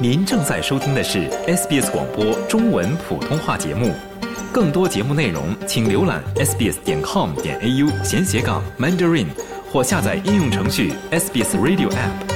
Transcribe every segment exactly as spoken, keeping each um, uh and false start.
您正在收听的是 S B S 广播中文普通话节目。更多节目内容，请浏览 s b s 点 com 点 a u 闲斜杠 Mandarin 或下载应用程序 S B S Radio App。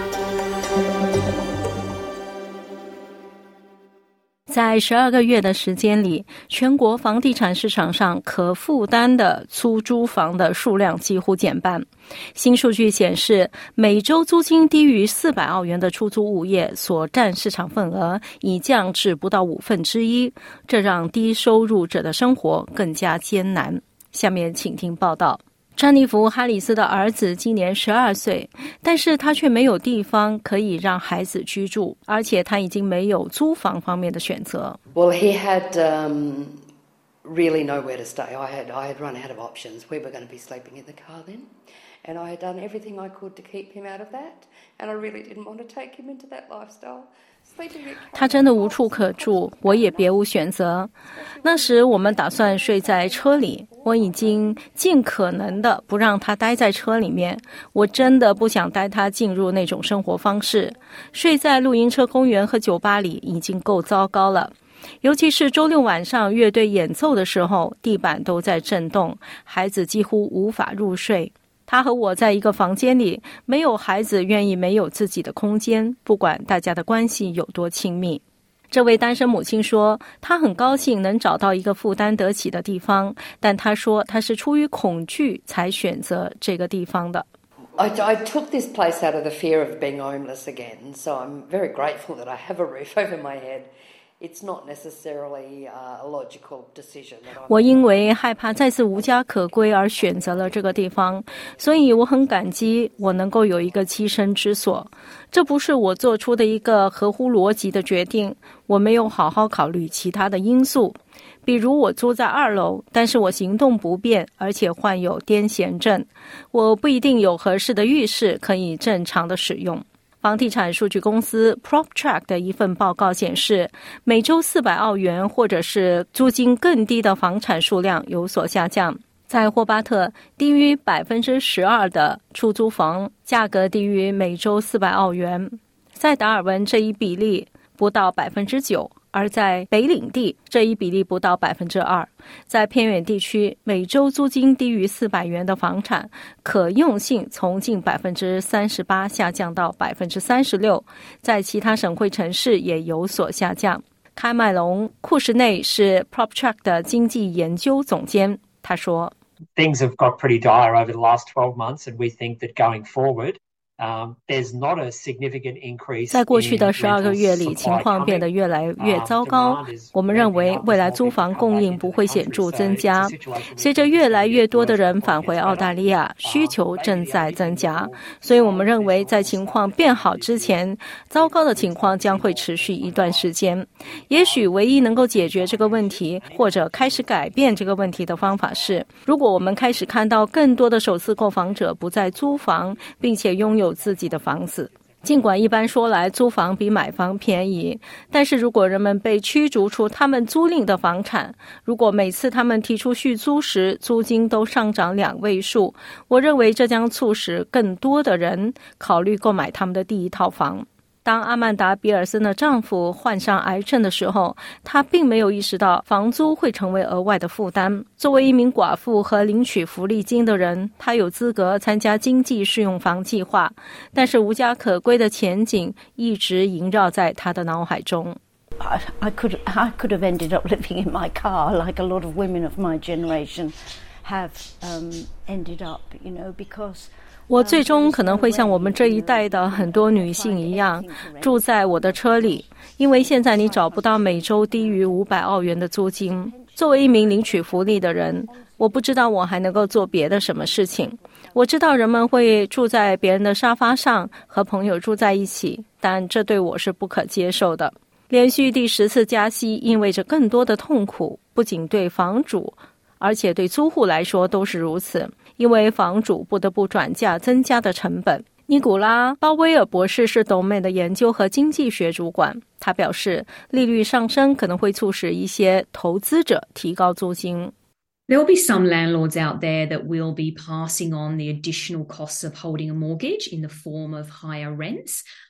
在十二个月的时间里，全国房地产市场上可负担的出租房的数量几乎减半。新数据显示，每周租金低于四百澳元的出租物业所占市场份额已降至不到五分之一，这让低收入者的生活更加艰难。下面请听报道。詹妮弗·哈里斯的儿子今年十二岁，但是他却没有地方可以让孩子居住，而且他已经没有租房方面的选择。 Well, he had um, really nowhere to stay. I had, I had run out of options. We were going to be sleeping in the car then, and I had done everything I could to keep him out of that, and I really didn't want to take him into that lifestyle. 他真的无处可住，我也别无选择。那时我们打算睡在车里，我已经尽可能的不让他待在车里面，我真的不想带他进入那种生活方式。睡在露营车公园和酒吧里已经够糟糕了，尤其是周六晚上乐队演奏的时候，地板都在震动，孩子几乎无法入睡。他和我在一个房间里，没有孩子愿意没有自己的空间，不管大家的关系有多亲密。这位单身母亲说，她很高兴能找到一个负担得起的地方，但她说她是出于恐惧才选择这个地方的。 I, I took this place out of the fear of being homeless again, so I'm very grateful that I have a roof over my head.It's not necessarily a logical decision. 我因为害怕再次无家可归而选择了这个地方，所以我很感激我能够有一个栖身之所。这不是我做出的一个合乎逻辑的决定，我没有好好考虑其他的因素。比如我住在二楼，但是我行动不便，而且患有癫痫症，我不一定有合适的浴室可以正常的使用。房地产数据公司 PropTrack 的一份报告显示，每周四百澳元或者是租金更低的房产数量有所下降。在霍巴特，低于 百分之十二 的出租房价格低于每周四百澳元，在达尔文这一比例不到 百分之九，而在北领地这一比例不到 百分之二。 在偏远地区，每周租金低于四百元的房产可用性从近 百分之三十八 下降到 百分之三十六， 在其他省会城市也有所下降。开麦隆·库什内是 PropTrack 的经济研究总监，他说 Things have got pretty dire over the last twelve months, and we think that going forward,Um, there's not a significant increase. 在过去的十二个月里，情况变得越来越糟糕。我们认为未来租房供应不会显著增加。随着越来越多的人返回澳大利亚，需求正在增加。所以我们认为在情况变好之前，糟糕的情况将会持续一段时间。也许唯一能够解决这个问题，或者开始改变这个问题的方法是，如果我们开始看到更多的首次购房者不再租房，并且拥有有自己的房子。尽管一般说来租房比买房便宜，但是如果人们被驱逐出他们租赁的房产，如果每次他们提出续租时租金都上涨两位数，我认为这将促使更多的人考虑购买他们的第一套房。当阿曼达·比尔森的丈夫患上癌症的时候，她并没有意识到房租会成为额外的负担。作为一名寡妇和领取福利金的人，她有资格参加经济适用房计划，但是无家可归的前景一直萦绕在她的脑海中。 I, I could, I could have ended up living in my car like a lot of women of my generation have um, ended up, you know, because 我最终可能会像我们这一代的很多女性一样，住在我的车里，因为现在你找不到每周低于五百澳元的租金。作为一名领取福利的人，我不知道我还能够做别的什么事情。我知道人们会住在别人的沙发上，和朋友住在一起，但这对我是不可接受的。连续第十次加息意味着更多的痛苦，不仅对房主，而且对租户来说都是如此，因为房主不得不转嫁增加的成本。尼古拉·鲍威尔博士是董美的研究和经济学主管，他表示，利率上升可能会促使一些投资者提高租金。 There will be some landlords out there that will be passing on the additional costs of holding a mortgage in the form of higher rents.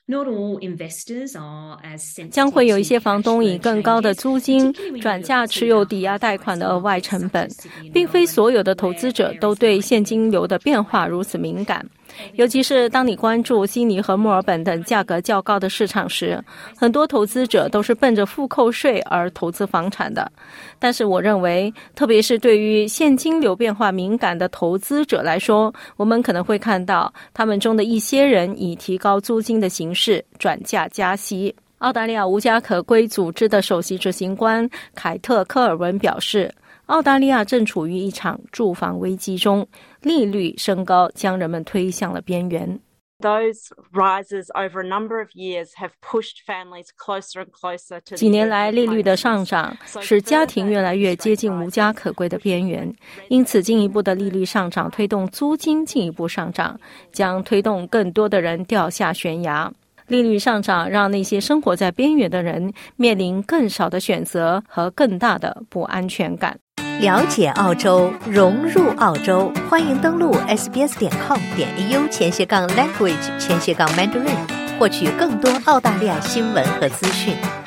Not all investors are as sensitive 将会有一些房东以更高的租金转嫁持有抵押贷款的额外成本，并非所有的投资者都对现金流的变化如此敏感。尤其是当你关注悉尼和墨尔本等价格较高的市场时，很多投资者都是奔着付扣税而投资房产的。但是我认为，特别是对于现金流变化敏感的投资者来说，我们可能会看到他们中的一些人以提高租金的形式转嫁加息。澳大利亚无家可归组织的首席执行官凯特·科尔文表示，澳大利亚正处于一场住房危机中，利率升高将人们推向了边缘。 Those rises over a number of years have pushed families closer and closer to 几年来，利率的上涨使家庭越来越接近无家可归的边缘，因此进一步的利率上涨推动租金进一步上涨，将推动更多的人掉下悬崖。利率上涨让那些生活在边缘的人面临更少的选择和更大的不安全感。 了解澳洲，融入澳洲，欢迎登录 s b s 点 com 点 a u 前斜杠 language 前斜杠 mandarin， 获取更多澳大利亚新闻和资讯。